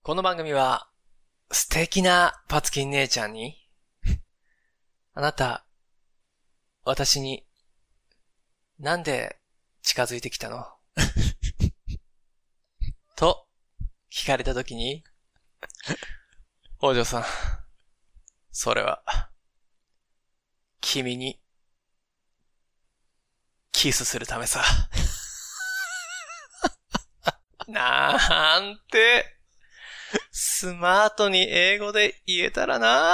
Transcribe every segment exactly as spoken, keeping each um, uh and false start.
この番組は素敵なパツキン姉ちゃんにあなた、私になんで近づいてきたのと聞かれたときにお嬢さん、それは君にキスするためさ。なんてスマートに英語で言えたらな。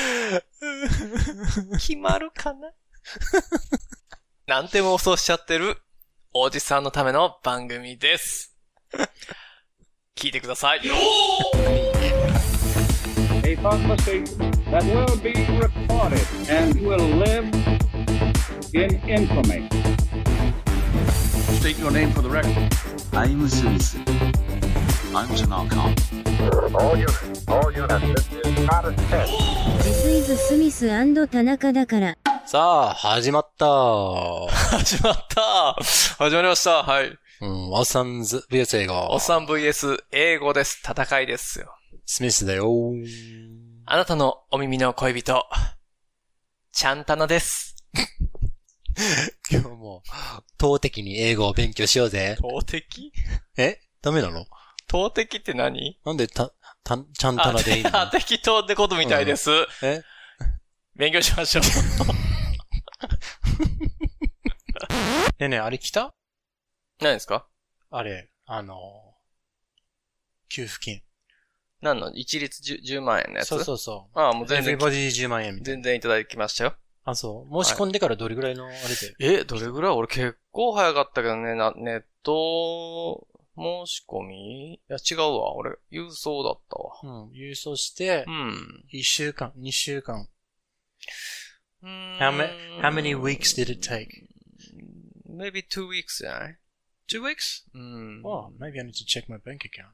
決まるかな。なんて妄想しちゃってるおじさんのための番組です。聞いてください。 A prophecy that will be recorded and will live in infamy. State your name for the record. I'm Smith. I'm Tanaka. All units, all units, this is not a test. This is Smith 田中だから。 さあ、始まったー。 始まった始まりました。はい。 うん、おっさん ブイエス 英語。 おっさん ブイエス 英語です。戦いですよ。 スミスだよー。 あなたのお耳の恋人、ちゃんたなです。 今日も、投擲に英語を勉強しようぜ。 投擲？ え？ダメなの？ 投擲って何？ なんでた、た、ちゃんたなでいいの？ あ、適当ってことみたいです。うん、 え？ 勉強しましょう。 ねえねえ、あれ来た？ 何ですか？ あれ、あの、給付金。 何の？一律 10, じゅうまん円のやつ？ そうそうそう。 ああ、もう全然。 Everybody じゅうまん円みたいな。 全然いただきましたよ。 あ、そう。申し込んでからどれぐらいのあれで、 はい、え、どれぐらい？俺結構早かったけどね、なネット申し込み？いや違うわ。俺、郵送だったわ。 うん。郵送して、うん。いっしゅうかん、にしゅうかん。How many, how many weeks did it take? Maybe two weeks じゃない？ Two weeks? うん。 Oh, maybe I need to check my bank account.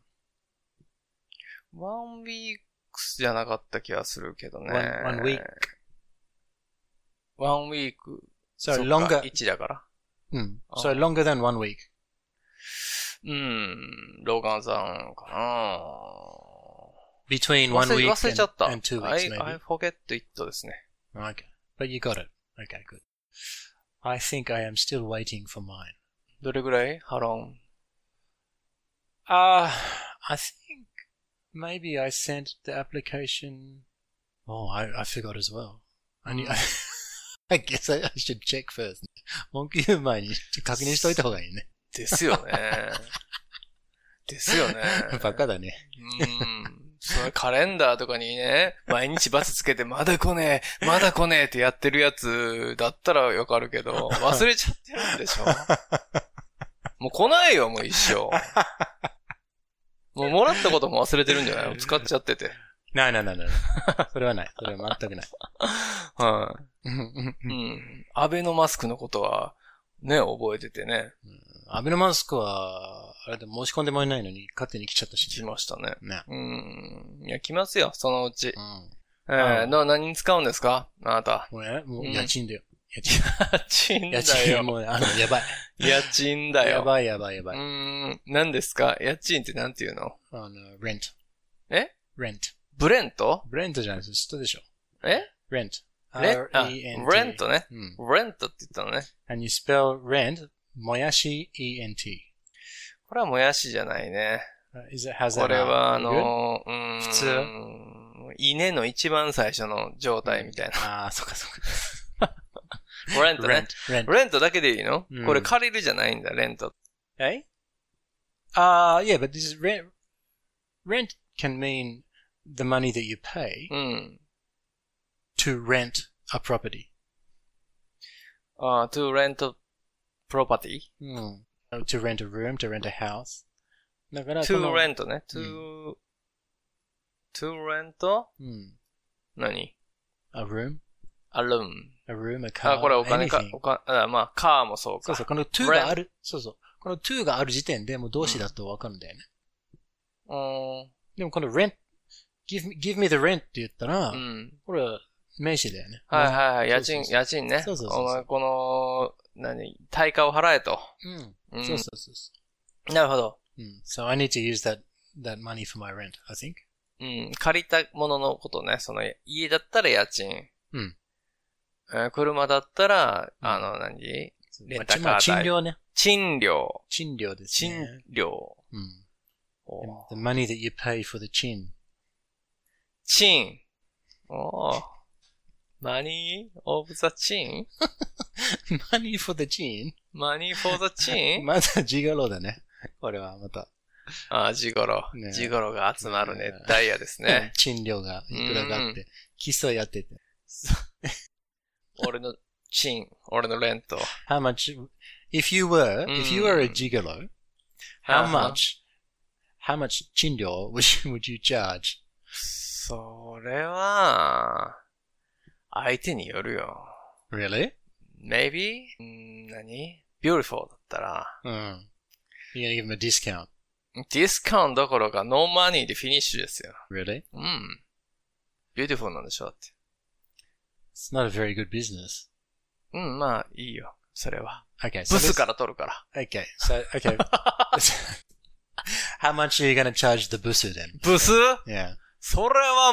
One week じゃなかった気がするけどね。 One, one week. One week. So longer. いちだから。 うん。So longer than one week. うん。ローガンさんかな。 Between one week 忘れちゃった。 and two weeks I, maybe. I forget it ですね。 Okay. But you got it. Okay, good. I think I am still waiting for mine. どれぐらい？ How long? Uh, I think maybe I sent the application. Oh, I, I forgot as well. I, need, I guess I, I should check first. 文句言う前に確認しといた方がいいね。 ですよね。ですよね。 バカだね。 うん。それカレンダーとかにね、毎日バツつけてまだ来ねえ、まだ来ねえってやってるやつだったらわかるけど、忘れちゃってるんでしょ。もう来ないよ、もう一生。もうもらったことも忘れてるんじゃないの？使っちゃってて。 ないないないない。それはない。それは全くない。 はい、うん。アベノマスクのことは、ね、覚えててね。 うん、アベノマスクは、あれで申し込んでもいないのに勝手に来ちゃったし。 来ましたね。 ね。 うん。いや、来ますよ、そのうち。うん、えー、 うん、 の何に使うんですかあなた。 もうね、もう家賃だよ。 家賃。家賃だよ。 家賃、もうね、あの、やばい。 家賃だよ。 やばいやばいやばい。 うーん。何ですか？家賃ってなんていうの？ あの、rent。 え？ rent。 ブレント？ ブレントじゃないです。知ったでしょ？ え？ rent。 レン、あ、レントね。うん。レントって言ったのね。 and you spell rent, もやし E N T。 これはもやしじゃないね。 Is it, has that これはあの、 うーん、 普通稲の一番最初の状態みたいな。 ああ、そっかそっか。 レントね。 レント。 レントだけでいいの、 うん、 これ借りるじゃないんだ、レント。 え？ああ、uh, yeah, but this is rent. Rent can mean the money that you pay、 うん、 to rent a property. ああ、to rent property? うん。to rent a room, to rent a house. だから to rent ね。to、うん、to rent? うん。 何？ a room? a room. a room, a car. あ、これお金か、お金、あ、まあ、カーもそうか。 そうそう、この to がある、そうそう。この to がある時点でもう動詞だとわかるんだよね。 うん。 でもこの rent, give me, give me the rent って言ったら、 うん、 これは名詞だよね。 はいはいはい。家賃、家賃ね。 そうそうそうそう。 お前この、何、対価を払えと。 うん。うん、そうそうそう。 なるほど。 うん。So I need to use that that money for my rent, I think. うん。借りたもののことね。その、家だったら家賃。 うん。 えー車だったら、あの、何レンタカー代。 まあ、賃料ね。 賃料。 賃料ですね。 賃料。 うん。 お The money that you pay for the chin. 賃。おー。money of the chin? money for the chin? money for the chin? まだジガロだね。これはまた。 ああ、ジゴロ。 ねジゴロが集まる熱帯夜ですね。 賃料がいくらがあって、競い合ってて。 俺の賃、俺のレント。 How much, if you were, if you were a gigolo, how much, how much 賃料 would you, would you charge? それは、相手によるよ。 Really? Maybe? んー何 ?Beautiful だったら。 うん。You're gonna give them a discount. ディスカウントどころかノーマニーでフィニッシュですよ。 Really? うん。Beautiful なんでしょって。 It's not a very good business. うん、まあ、いいよ。それは。 Okay, so ブス let's- から取るから。 Okay, so, okay. How much are you gonna charge the busu then? ブス Yeah. それは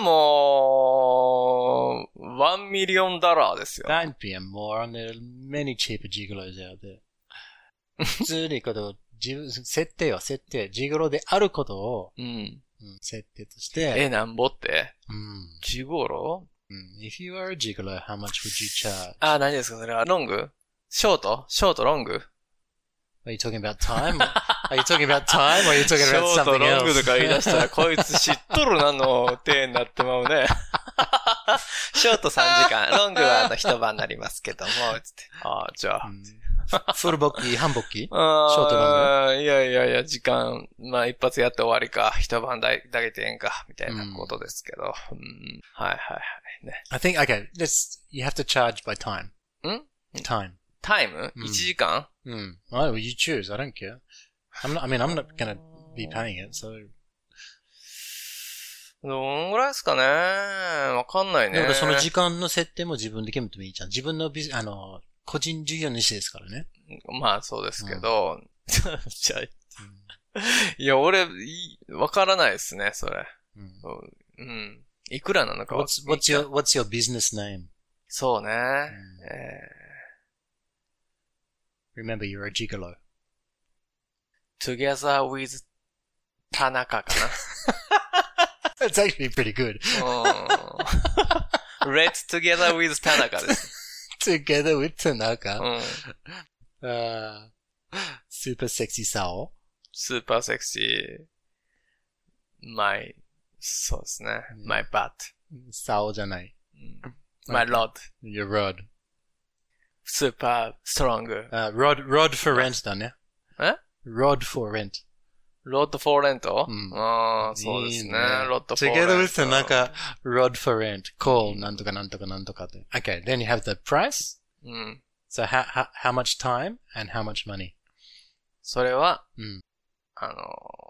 もう、ワンミリオンダラーですよ。 Don't be a moron. There are many cheaper gigolos out there. 普通にことを、自分、設定よ、設定。ジゴロであることを、 うん。 うん設定として、 え、なんぼってうんジゴロうん If you are a gigolo, how much would you charge? あ、何ですかそれは。ロングショートショートロング Are you talking about time? Are you talking about time or are you シ talking ョ about ート something ロング else? とか言い出したら、こいつ知っとるなの手になってまうね。ショートさんじかん、ロングはあの一晩になりますけども、つって。ああ、じゃあ。 フルボッキー、半ボッキーあショートロングいやいやいや、時間、まあ一発やって終わりか、一晩だだけてええんか、みたいなことですけど。うんはいはいはい。ね。 I think, okay, let's, you have to charge by time. ん Time. タイムうん ?いち 時間 Mm. Oh, you choose. I don't care. I'm not, I mean, I'm not gonna be paying it, so. どんぐらいですかねわかんないね。 だからその時間の設定も自分で決めてもいいじゃん。自分のビジ、あの、個人事業主ですからね。 まあそうですけど。じゃあ、いや、俺、いわからないですね、それ。 うんうん。いくらなのかは。 What's, what's your, what's your business name? そうね。 んえ Remember, you're a gigolo. ー、together with 田中か That's actually pretty good. な。うん。Let's together with 田中です。 Together with う Tanaka. ん。 Uh, super sexy Sao. スーパーセクシー。my, そうですね。my butt. Sao じゃない。 my rod. Your rod. super strong. Uh, rod, rod for rent だね。 え Rod for rent. ロッドフォーレントうんああ、そうですね。 いいねロッドフォーレント。 Together with Tanaka, rod for rent. Call なんとかなんとかなんとかって。Okay, then you have the price. うん。 So how, how, how much time and how much money? それは、 うんあのー、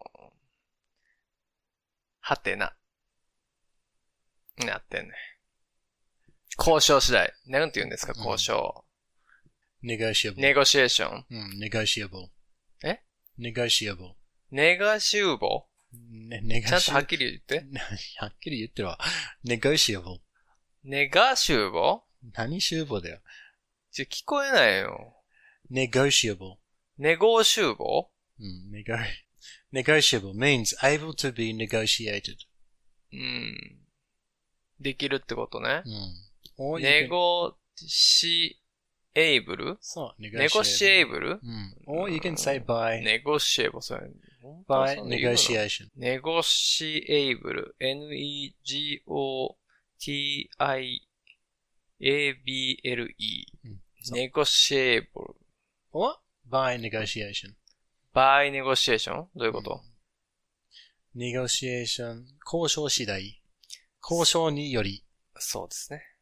はてな。なってんね。交渉次第。なんて言うんですか、交渉。 Negotiable. ネゴシエーション。 うん negotiable. え negotiable. ネガシューボね、 ちゃんとはっ negotiable. きり言って。 はっきり言ってるわ。negotiable. ネガシューボ何集合だよ。 ちょ、聞こえないよ。 negotiable. ネゴシューボうん、nego- negotiable means able to be negotiated. うん。できるってことね。 うん。or you ネ can- ゴシエイブルそう、 ネゴシエイブルうん。or you can say by, ネゴシエイブル、それ。本当は by そんな言うの negotiation. ネゴシエイブル、エヌイージーオーティーアイエービーエルイー。 うんそうネゴシエイブル。 or by negotiation. バイネゴシエーションどういうこと、 negotiation 交渉次第。交渉により。 そうですね。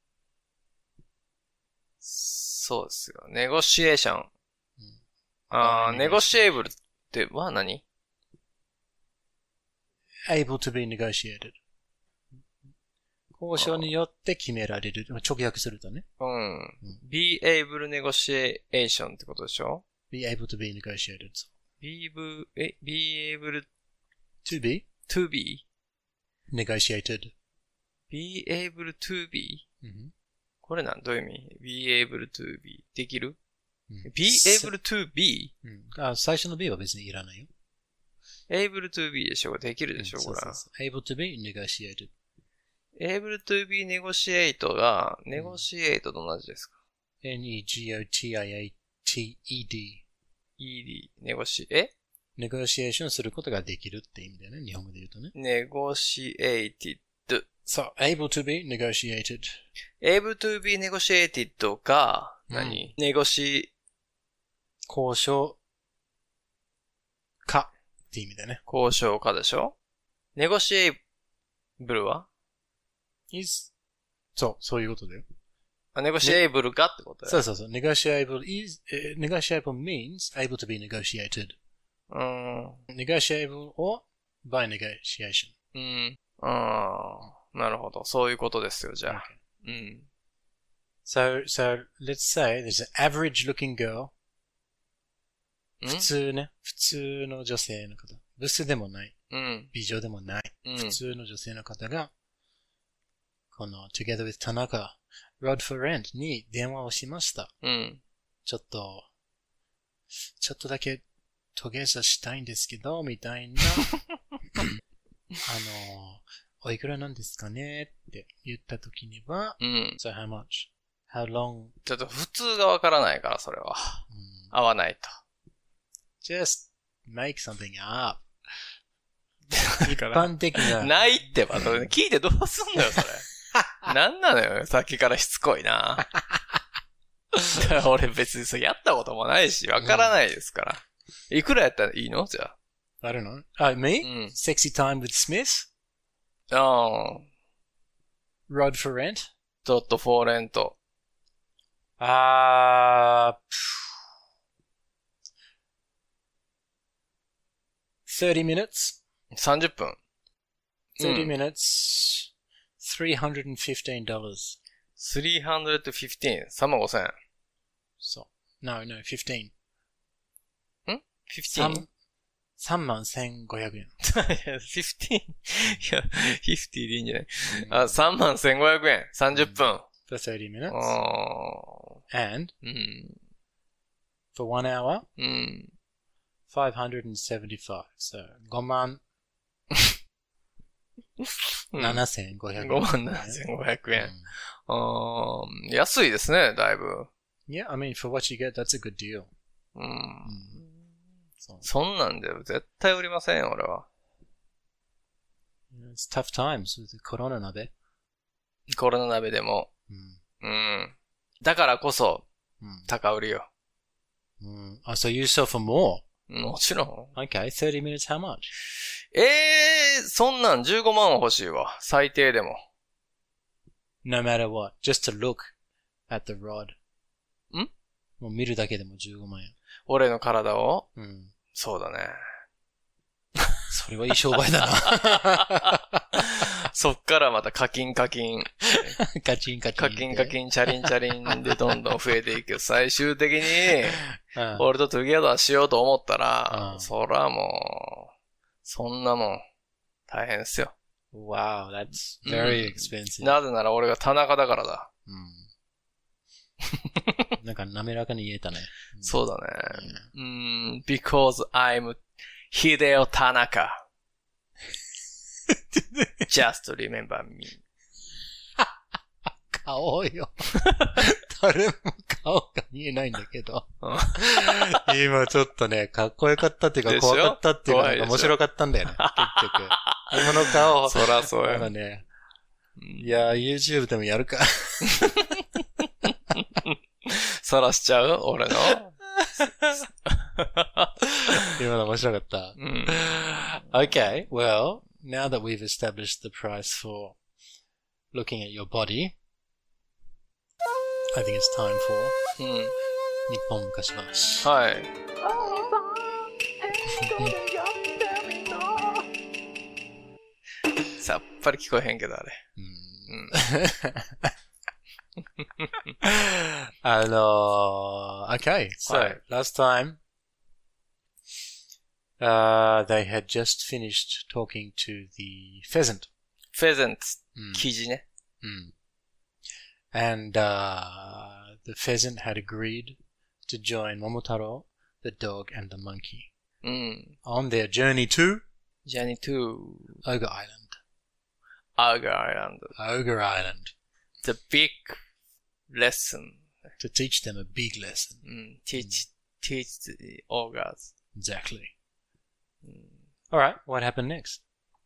そうですよ。ネゴシエーション。あー、ネゴシエイブルっては何 able to be negotiated. 交渉によって決められる。直訳するとね。 うん。be able negotiation ってことでしょ be able to be negotiated. be able, え be able to be to be, negotiated. be able to be? うん、 これなんどういう意味 ?be able to be できる、 うん、 ?be able to be? うん、あ、最初の be は別にいらないよ。 able to be でしょできるでしょ、 うん、 これ。 そうそうそう able to be negotiated. able to be negotiate が negotiate と同じですか、 うん、N-E-G-O-T-I-A-T-E-D ed, negotiate, え negotiation することができるって意味だよね。日本語で言うとね。 negotiated. そう、able to be negotiated. able to be negotiated が何、 うん、 ネゴシ、 交渉かって意味だよね。 交渉家でしょネゴシエイブルは is そう、そういうことだよ。 あ、ネゴシエイブルかってことだよ。 そうそうそう。negotiable is,、uh, negotiable means able to be negotiated. うーん。 negotiable or by negotiation. うん。ああ、なるほど。そういうことですよ、じゃあ。 Okay. うん。 So, so, let's say there's an average looking girl. ん普通ね。普通の女性の方。ブスでもない。 うん。 美女でもない。 うん、 普通の女性の方が、この Together with Tanaka, Rod for Rent に電話をしました。 うん。 ちょっと、ちょっとだけトゲザしたいんですけど、みたいな。あの、おいくらなんですかねって言ったときには、 うん。 So how much? How long? ちょっと普通がわからないから、それは。 うん、 合わないと。 Just make something up. 一般的な。 ないってば、聞いてどうすんのよ、それ。なんなのよ、さっきからしつこいな。俺別にそれやったこともないし、わからないですから。うん、いくらやったらいいのじゃあ。 I don't know. Uh, me?、うん、Sexy time with Smith? ああ。 Rod for rent? ドットフォーレント。 あー、thirty minutes? さんじゅっぷん。 thirty minutes, three hundred fifteen dollars. three hundred fifteen? さんまんごせん。 そう。No, no, fifteen. ん ?fifteen? さんまんせんごひゃくえん。 fifteen? いや、fiftyでいいんじゃない、うん、あ、さんまんせんごひゃくえん。さんじゅっぷん。 For thirty minutes. And, うん、 for one hour, うん、 five hundred seventy-five. So, ごまんななせんごひゃくえん。 ごまんななせんごひゃくえん。うん、安いですね、だいぶ。 Yeah, I mean, for what you get, that's a good deal. うん。うん、そ, そんなんで絶対売りませんよ、俺は。 It's tough times with the コロナ鍋。 コロナ鍋でも。うん。うん、だからこそ、うん、高売りよ。 うん。あ、so you sell for more? もちろん。 Okay, thirty minutes how much? ええー、そんなんじゅうごまんは欲しいわ。最低でも。 No matter what. Just to look at the rod. ん？ もう見るだけでもじゅうごまんえん。 俺の体を？ うん。 そうだね。 それはいい商売だな。 そっからまた課金課金。 カチンカチン。 課金課金、チャリンチャリンでどんどん増えていく。最終的に、俺とトゥギャザーしようと思ったら、うん、そらもう、そんなもん、大変ですよ。 Wow, that's very expensive. うん、なぜなら俺が田中だからだ。 うん、なんか滑らかに言えたね。 そうだね。うん、because I'm Hideo Tanaka. Just remember me. 顔よ。誰も顔が見えないんだけど。今ちょっとね、かっこよかったっていうか怖かったっていうか面白かったんだよね。結局。今の顔。 そらそうや。 ね。いや、YouTube でもやるか。 さらしちゃう俺の。 今の面白かった。うん、okay, well, now that we've established the price for looking at your body, I think it's time for 日本昔話。 はい。さっぱり聞こえへんけどあれ。うん。 あのー、okay, so、はい、last time Uh, they had just finished talking to the pheasant. pheasant, うんキジね。 Mm. And uh, the pheasant had agreed to join Momotaro, the dog, and the monkey うん。 on their journey to Journey to Ogre Island. Ogre Island. Ogre Island. The big lesson. To teach them a big lesson. うん。teach, teach the ogres. Exactly. Alright, what happened next?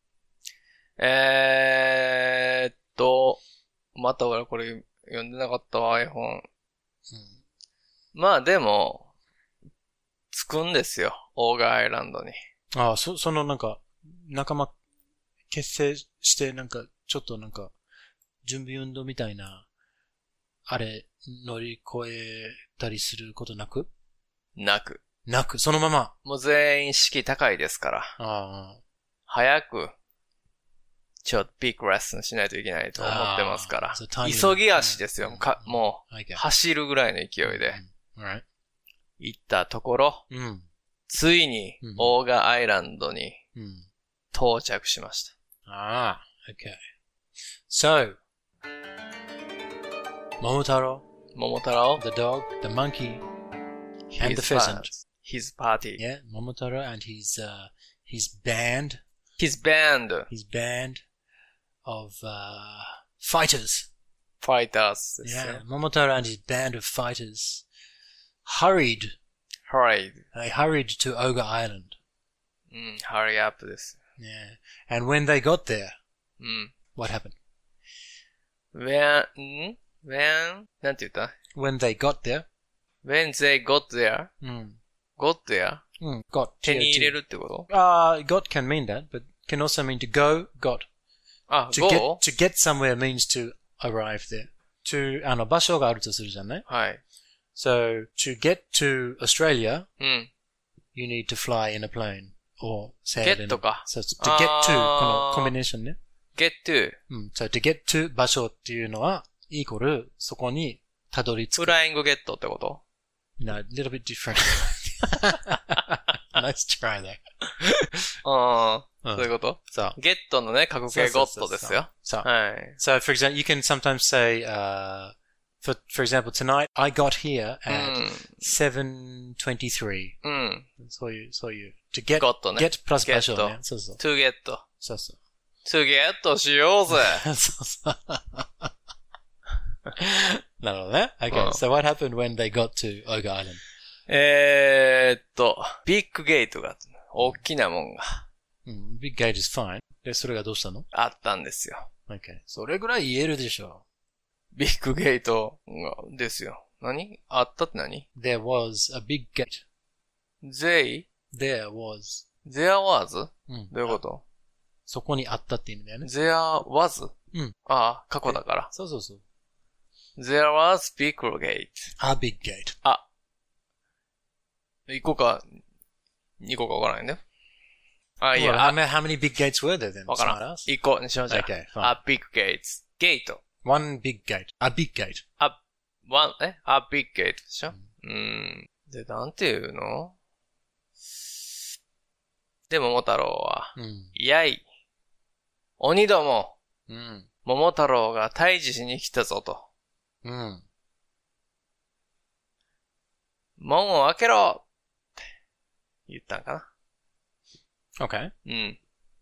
えーっと、また俺これ読んでなかったわ、絵本。まあでも、着くんですよ、オーガーアイランドに。 ああ、そ、そのなんか、仲間、結成してなんか、ちょっとなんか、準備運動みたいな、あれ、乗り越えたりすることなくなく。 なく、そのまま。 もう全員士気高いですから。 ああ。 早く、ちょっとビッグレッスンしないといけないと思ってますからあー。そう急ぎ足ですよ。 うんかもう、 Okay. 走るぐらいの勢いで。 うん Alright. 行ったところ、 うん。 ついにうん、 オーガーアイランドにうん。 到着しました。 Ah, okay. So, Momotaro, 桃太郎、 the dog, the monkey, and the his pheasant. His party. Yeah, Momotaro and his, uh, his band, His band. his band of, uh, fighters. Fighters ですよ。 Yeah, Momotaro and his band of fighters hurried, Hurry. they hurried to Ogre Island. うん、hurry up です。 Yeah. And when they got there, うん。 what happened? when, ん when, なんて言った When they got there, when they got there, うん、 got there, うん、got. 手に入れるってこと Uh, got can mean that, but can also mean to go, got. あ、 To go? get, to get somewhere means to arrive there. To, あの、場所があるとするじゃんね。 はい。 So, to get to Australia, うん。 you need to fly in a plane. Or sail in a... Get か。 So, to get to, あーこのコンビネーションね。 get to, うん。So, to get to 場所っていうのは、イコール、そこにたどり着く。 フライングゲットってこと No, a little bit different. Nice try there. ああ、 うんそういうこと So, ゲットのね、過去形ゴットですよ。 So, はい。 so for example, you can sometimes say, uh, for, for example, tonight I got here う at ん。 seven twenty-three. うん。 そういう、そういう。to get, got ね。 get プラス場所 get ね。そうそう。 to get. そうそう。 to get しようぜ。 そうそう。なるほどね。Okay, うん so what happened when they got to Ogre Island? えーっと、ビッグゲートが、大きなもんがうん、big gate is fine. で、それがどうしたの？ あったんですよ。 Okay. それぐらい言えるでしょビッグゲートが、ですよ。何あったって何 There was a big gate. ?they, There was. there was? うん。 どういうことそこにあったって意味だよね。 ?there was? うん。 ああ、過去だから。 そうそうそう。 there was big gate. A big gate. あ、一個か、二個かわからないんだよ。あ、い Well, や、 how あ many, how many big gates were there then? わからん Smartass?。 一個にしましょう。 Okay, fine. a big gate. ゲート。 One big gate. A big gate. a, one, え a big gate でしょうーん。で、なんていうので、桃太郎は、 うん。 やい。鬼ども、 うん。 桃太郎が退治しに来たぞと。 うん。 門を開けろって言ったんかな。 Okay. うん。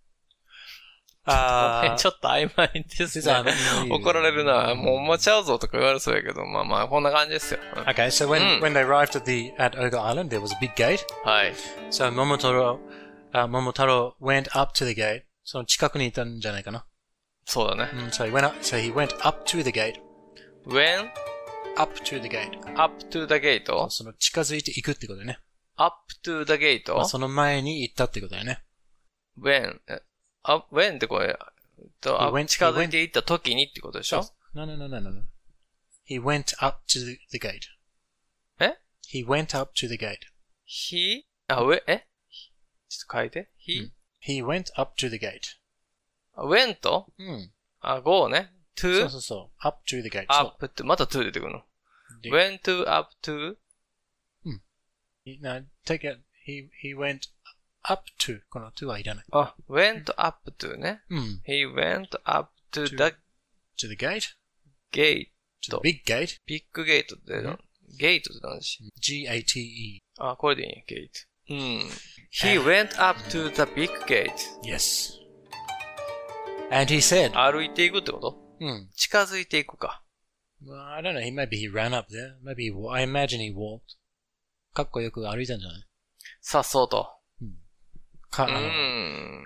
あちょっと曖昧です実はね。怒られるな。もうおまちゃうぞとか言われそうやけど、まあまあ、こんな感じですよ。うん Okay, so when, うん when they arrived at the, at Ogre Island, there was a big gate. はい。 So Momotaro, uh, Momotaro went up to the gate. その近くにいたんじゃないかな。 そうだね。 うん、so he went up, so he went up to the gate. when Up to the gate. up to the gate? その近づいていくってことだよね。 up to the gate? まあその前に行ったってことだよね。 when? あ、when ってこれ、とあ He went- 近づいていった時にってことでしょ No, no, no, no, no, no. He went up to the, the gate. え He went up to the gate. ?he? あ、上えちょっと書いて。he?、 He went up to the gate. went? うん。 あ、go ね。 そ to? うそうそう。up to the gate. up って、また to 出てくるの。 で went to up to? He, no, take it. He, he went up to この to はいらない。 あ、went up to ね。 うん。 He went up to to, the to the gate? gate. To the big gate? ビッグゲートって、 うん、 ゲートって何でしょ G A T E. あ、これでいいね、ゲート。うん。He went up to the big gate. Yes. And he said, 歩いていくってこと、 うん、 近づいていくか。 Well, I don't know. He, maybe he ran up there. Maybe he, I imagine he walked. かっこよく歩いたんじゃない？ さっそうと。 うん、か、あの、うん、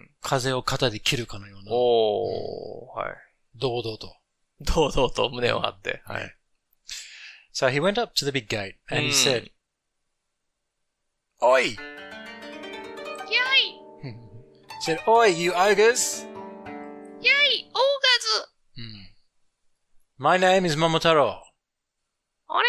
風を肩で切るかのような。 おー、はい。 堂々と。 堂々と胸を張って。はい。 So he went up to the big gate and he said, Oi! Yay! He said, Oi, you ogres! Yay, ogres! Hmm. My name is Momotaro. 俺は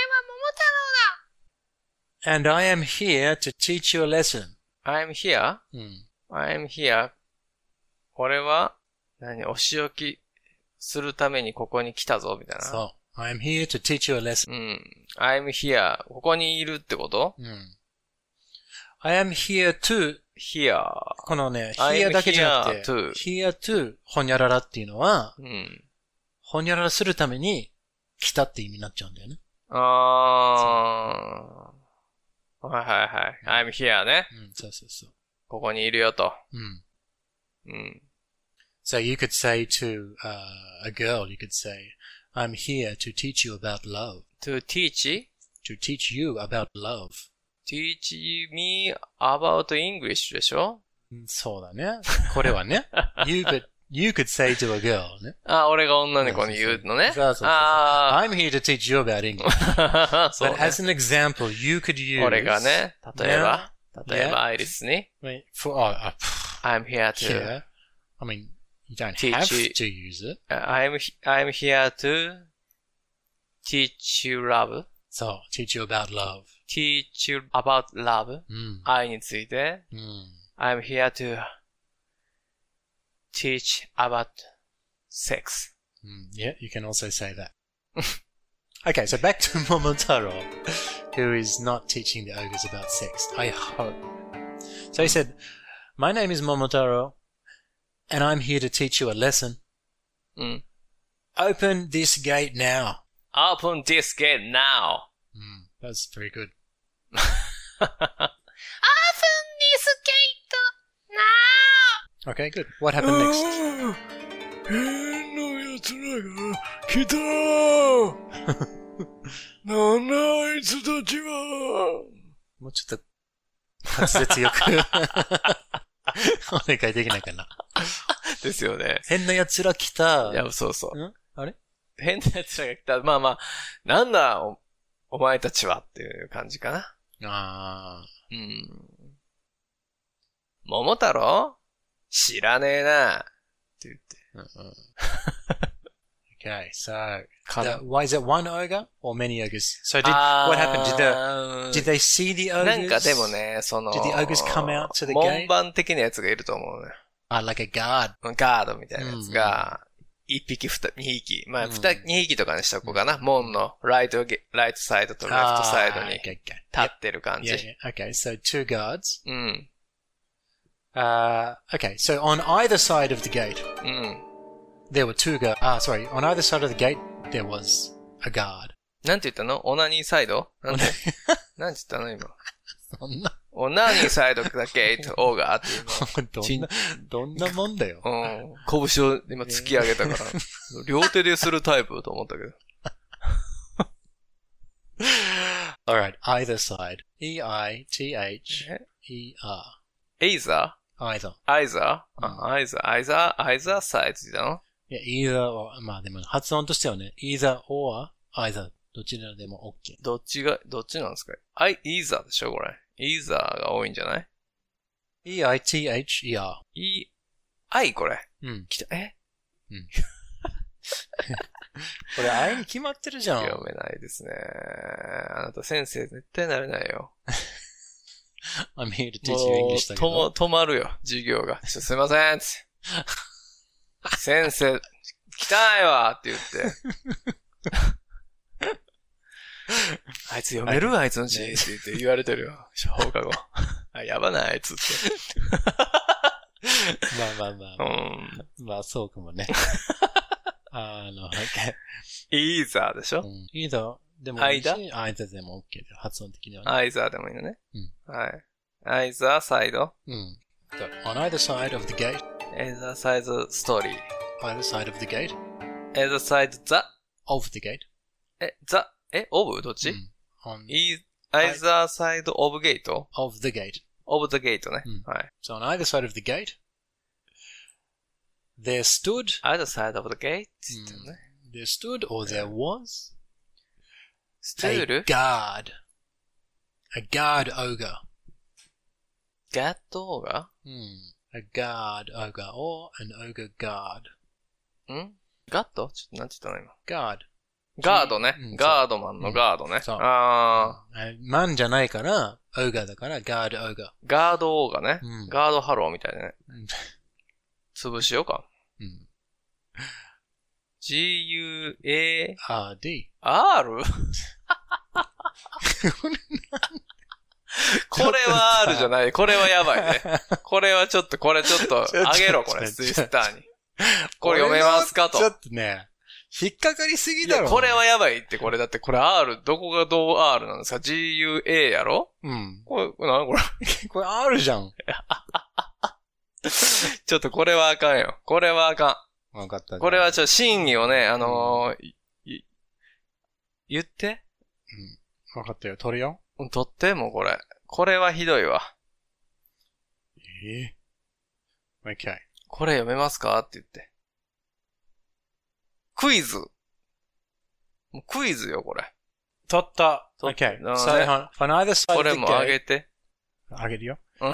桃太郎だ! And I am here to teach you a lesson. I'm here? うん。 I'm here. 俺は、何、お仕置きするためにここに来たぞ、みたいな。 そう。I'm here to teach you a lesson. うん。I'm here. ここにいるってこと？うん。 I am here to here. このね、here だけじゃなくて、 here to, here to ほにゃららっていうのは、 うん、 ほにゃららするために来たって意味になっちゃうんだよね。 あー。はいはいはい。I'm here ね。 うん、そうそうそう。 ここにいるよと。 うん。 うん。 So you could say to、uh, a girl, you could say, I'm here to teach you about love. To teach? To teach you about love.Teach me about English でしょ？ そうだね。これはね。you could, you could say to a girl ね。 あ、俺が女の子に言うのね。 そうそうそう。I'm here to teach you about English. そうね。 But as an example, you could use 俺がね、例えば、例えばアイリスに for, oh, uh, I'm here to here. I mean, you don't have to use it. I'm, I'm here to teach you love. そう、teach you about love.Teach you about love、うん、愛について、 うん、 I'm here to teach about sex、 うん、Yeah, you can also say that. Okay, so back to Momotaro, who is not teaching the ogres about sex, I hope. So he said, My name is Momotaro, and I'm here to teach you a lesson. うん、 Open this gate now. Open this gate now. Mm, that's very good.Open this gate now! Okay, good. What happened next? 変な奴らが来たーなんだあいつたちはもうちょっと滑舌よくお願いできないかなですよね。 変な奴ら来た。 いや、そうそう。 んあれ変な奴らが来た。まあまあ、なんだお、お前たちはっていう感じかな。 ああ。 うん。桃太郎知らねえな。って言って。 うんうん、okay, so, the, why is it one ogre or many ogres? So did, what happened? Did the, did they see the ogres? なんかでもね、その、 did the ogres come out to the gate? 門番的なやつがいると思うね。 あ、like a guard. ガードみたいなやつが、一匹、二、二匹。まあ、二、二匹とかにしとこうかな。門のライト、ライトサイドとレフトサイドに立ってる感じ。 Yeah, yeah. Okay, so two guards. うん。 Uh, okay, so on either side of the gate, うん。 there were two guards. Ah, sorry. On either side of the gate, there was a guard. なんて言ったの？オナニーサイド？なんて、なんて言ったの今。 そんな。 オナニーサイドだけ、オーガーっていうの。 どんな、どんなもんだよ。 うん。拳を今突き上げたから、両手でするタイプと思ったけど。Alright, either side. E I T H E R. Either? Either. Either? あ、either, either, either side だの？ いや、either or, まあでも発音としてはね、either or, either. どちらでも OK。 どっちが、どっちなんですか？ I, either でしょこれ。either が多いんじゃない？ E I T H E R. E, I これ。 うん。 来た、え？ うん。これ I に決まってるじゃん。 読めないですね。あなた先生絶対なれないよ。 I'm here to teach you English だけど。 止まるよ、授業が。すいませんって。先生、汚いわって言って。あいつ読めるあいつの字って言って言われてるよ。放課後。 あ、やばない、つって。 まあまあまあ。 うん。 まあそうかもね。あの、OK。 イーザーでしょ、 うん、イーザーでもいいし、アイザーでも OK で、発音的にはね。 アイザーでもいいのね。 うん。 はい。アイザーサイド。 うん。On either side of the gate. either side story. either side of the gate. either side the. of the gate. え、the? え、of? どっち、うん、 on either side of gate? of the gate. of the gate ね。 うん、 はい。 So on either side of the gate, there stood. either side of the gate? って言ってね。 There stood or there was stood? a guard. A guard ogre. Guard ogre? Hmm. A guard ogre or an ogre guard. んガッドちょっとなんて言ったの今。 ガード。 ガードね。 うん、 ガードマンのガードね。 そう。 あー。マンじゃないから、オーガーだから、ガードオーガー。 ガードオーガね。 うん、 ガードハローみたいなね。 うん、 潰しようか。 うん、 ジーユーエーアールディー。 アール? これは R じゃない。これはやばいね。これはちょっと、これちょっと、あげろ、これ、ツイスターに。これ読めますかと。 ちょっとね、引っかかりすぎだろ。 いや、これはやばいって、これだって、これ R、どこがどう R なんですか ?ジーユーエー やろうん。 これ、これ何これこれ R じゃん。 ちょっとこれはあかんよ。これはあかん。わかった。 これはちょっと真偽をね、あのー、い、言ってうん。わかったよ。取るよ。 取ってもうこれ。これはひどいわ。 えぇ、ー、?OK。 これ読めますかって言って。クイズ。もうクイズよ、これ。 取った。 取った OK。So, on either side これもあげて。 あげるよ。 うん。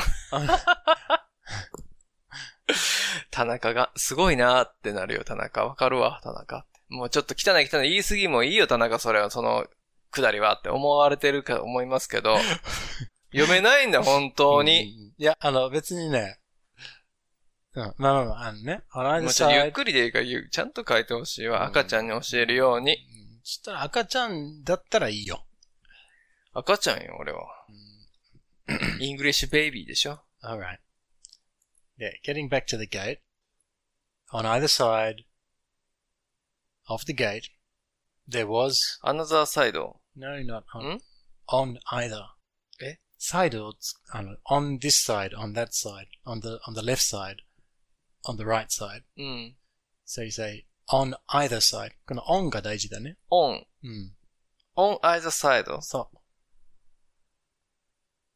田中が、すごいなーってなるよ、田中。わかるわ、田中。もうちょっと汚い汚い言い過ぎもいいよ、田中、それは、その、くだりはって思われてるか思いますけど、読めないんだ、本当に。 いや、あの、別にね、うん、まあまあまあ、あのね、on either もうちょっと side ゆっくりでいいから、ちゃんと書いてほしいわ。赤ちゃんに教えるように。 そしたら赤ちゃんだったらいいよ。 赤ちゃんよ、俺は。イングリッシュベイビーでしょ Alright. Yeah, getting back to the gate. On either side of the gate, there was... Another side. No, not on. ん On either. え Side or, on this side, on that side, on the, on the left side, on the right side. うん。 So you say, on either side. この on が大事だね。 on. うん。 on either side. そう。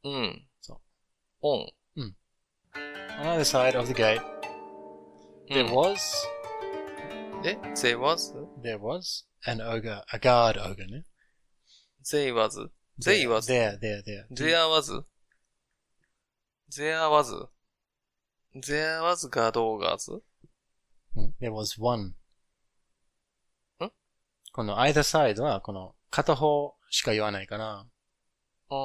うん。 そう。 on. うん。On either side of the gate, there was... え ?there was? There was an ogre, a guard ogre ね。 There was? There was? There, there, there. There was? There was? There was guard ogres? There was one. んこの either side はこの片方しか言わないから。 うん。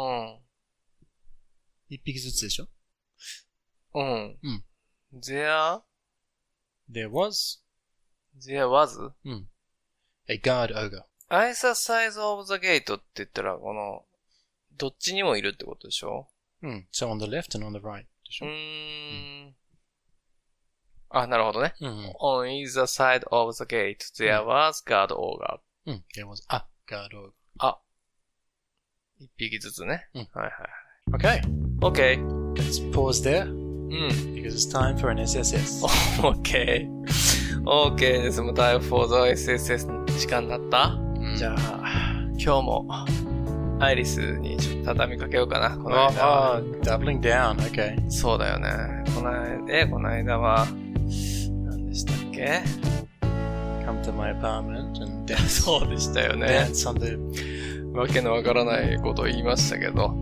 一匹ずつでしょうん。 うん。 There? There was? There was? うん。A guard ogre. Either side of the gate って言ったら、この、どっちにもいるってことでしょうん。So on the left and on the right でしょうーん。あ、なるほどね。 うん、うん。 On either side of the gate, there was guard ogre. うん。There was a guard ogre. あ。一匹ずつね。 うん。 はいはい。 Okay. Okay. Let's pause there. うん。 Because it's time for an エスエスエス. Okay. OK です。もうタイムフォーザ エスエスエス の時間になった、うん、じゃあ、今日も、アイリスにちょっと畳みかけようかな。この間は。 あ、oh, doubling down. Okay. そうだよね。この間、え、この間は、何でしたっけ Come to my apartment and dance. そうでしたよね。 Dance on the... わけのわからないことを言いましたけど。うん。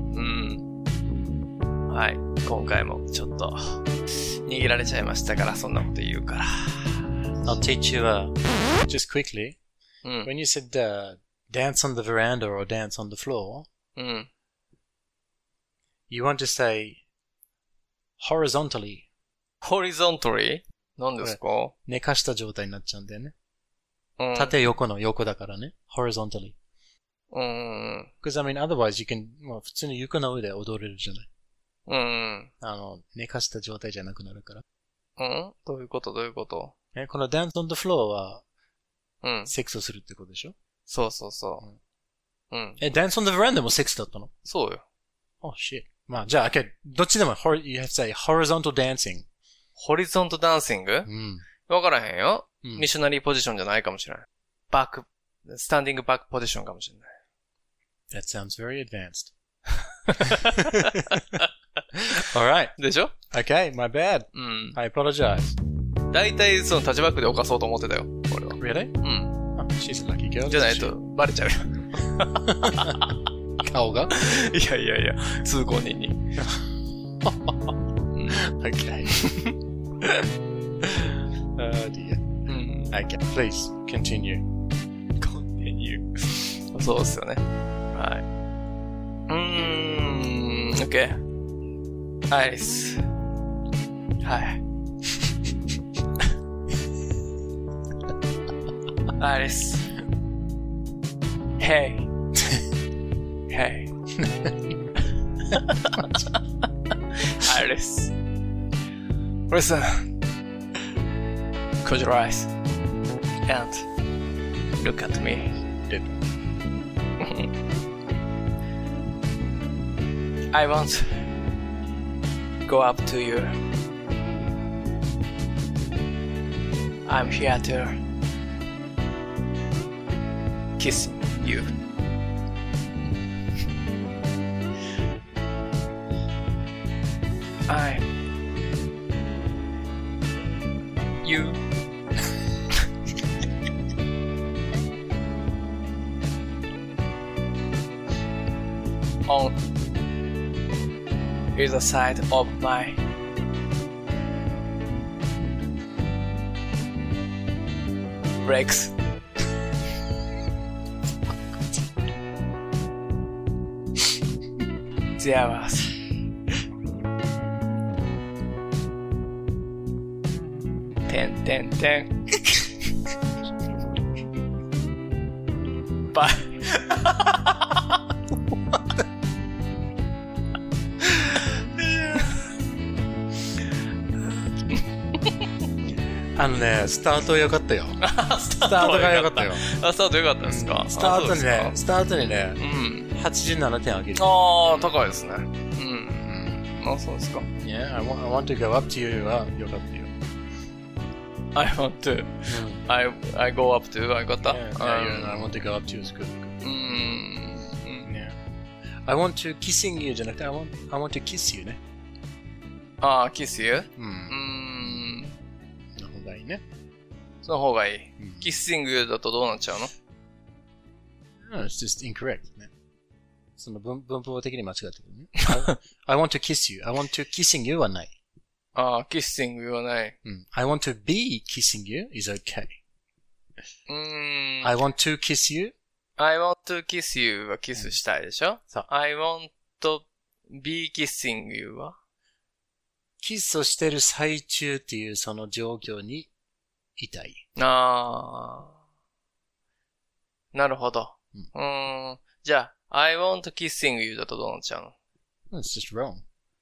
はい。今回もちょっと、逃げられちゃいましたから、そんなこと言うから。 I'll teach you, uh, just quickly. うん。 When you said, uh, dance on the veranda or dance on the floor, うん。 you want to say horizontally. horizontally? 何ですか？ 寝かした状態になっちゃうんだよね。 うん。 縦横の横だからね。horizontally. うん。 Because I mean, otherwise you can, まあ普通に床の上で踊れるじゃない。 うん。 あの、寝かした状態じゃなくなるから。 うんどういうことどういうことえ、この dance on the floor は、 うん。 セックスをするってことでしょ？ そうそうそう。うん。 え、dance on the veranda もセックスだったの？ そうよ。 Oh shit. まあ、じゃあ、okay、どっちでも、you have to say horizontal dancing. ホリゾントダンシング？うん。わからへんよ。うん、ミッショナリーポジションじゃないかもしれない。バック、スタンディングバックポジションかもしれない。 That sounds very advanced. Alright. でしょ？ Okay, my bad. うん。I apologize. 大体そのタッチバックで犯そうと思ってたよ、俺は。 Really? うん。 Oh, she's a lucky girl. じゃないとバレちゃうよ。 顔が？ いやいやいや、通行人に。 Okay. Oh dear. うん。Okay, please continue. Continue. そうですよね。はい。うーん、OK。アイリス。はい。アイリス。Hey. Hey. Iris. Listen. Close your eyes. And look at me. I won't go up to you. I'm here to kiss you. I you on either side of my legs. There was ten, ten, ten. Bye. あのね、スタート良かったよ。 スタートが良かったよ。 あ、スタート良かったですか？ スタートにね、スタートにね、うん、はちじゅうななてんあげる。 ああ、高いですね。うん。あ、そうですか。 Yeah, I want, I want to go up to you は良かったよ。 I want to. I, I go up to. I got that. Yeah, yeah, I want to go up to you is good. うん。Yeah. I want to kissing you じゃなくて、I want, I want to kiss you ね。 ああ、kiss you? うん。の方がいいね。 その方がいい。キッシングだとどうなっちゃうの？ No, it's just incorrect ね。その文文法的に間違ってるね。I, I want to kiss you. I want to kissing you はない。 ああ、キッシングはない。 うん。I want to be kissing you is okay. うーん。 I want to kiss you. I want to kiss you はキスしたいでしょ？ そう。 I want to be kissing you はキスをしてる最中っていうその状況にいたい。 ああ。なるほど。うん。うーんじゃあ、I want kissing you だとどうなっちゃうの？ It's just wrong.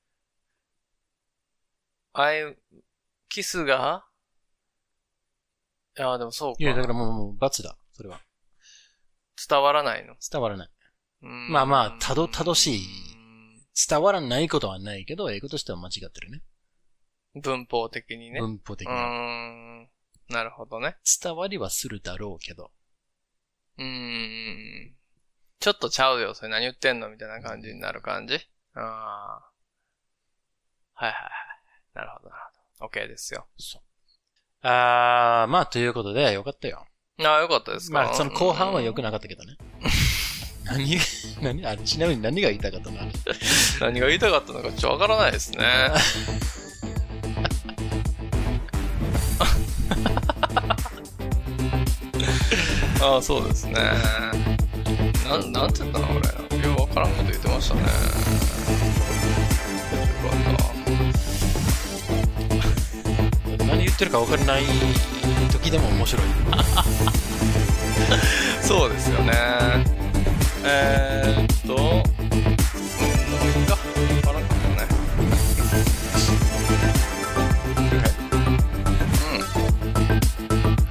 I, キスがいや、でもそうか。 いや、だからもう、もう、罰だ。それは。 伝わらないの？ 伝わらない。まあまあ、たど、たどしい。伝わらないことはないけど、英語としては間違ってるね。 文法的にね。 文法的に。 うーん。なるほどね。 伝わりはするだろうけど。 うーん。ちょっとちゃうよ。それ何言ってんのみたいな感じになる感じ？ああ。はいはいはい。なるほどなるほど。OK ですよ。 そう。あー、まあということで、よかったよ。 ああ、よかったですか？ まあその後半は良くなかったけどね。何、何、あ、ちなみに何が言いたかったの？ 何が言いたかったのかちょっとわからないですね。ああ、そうですね。なん、なんて言ったの俺。よくわからんこと言ってましたね。よかった。 何言ってるか分からない時でも面白い。 そうですよね。えーっと、うん、どこ行くか分からんけどね。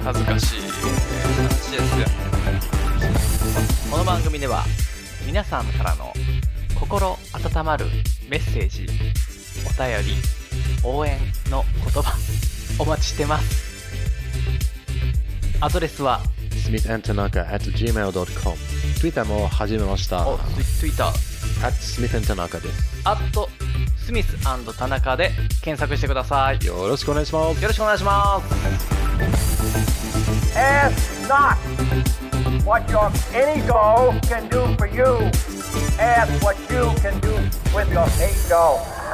恥ずかしい話ですよ。 この番組では皆さんからの心温まるメッセージ、お便り、応援の言葉お待ちしてます。アドレスはスミス アンド タナカ at ジーメール ドット コム。 Twitter も始めました。 お Twitter at スミス アンド タナカ です。 アットスミス&田中で検索してください。 よろしくお願いします。 よろしくお願いします。 Ask not what your ego can do for you. Ask what you can do with your ego.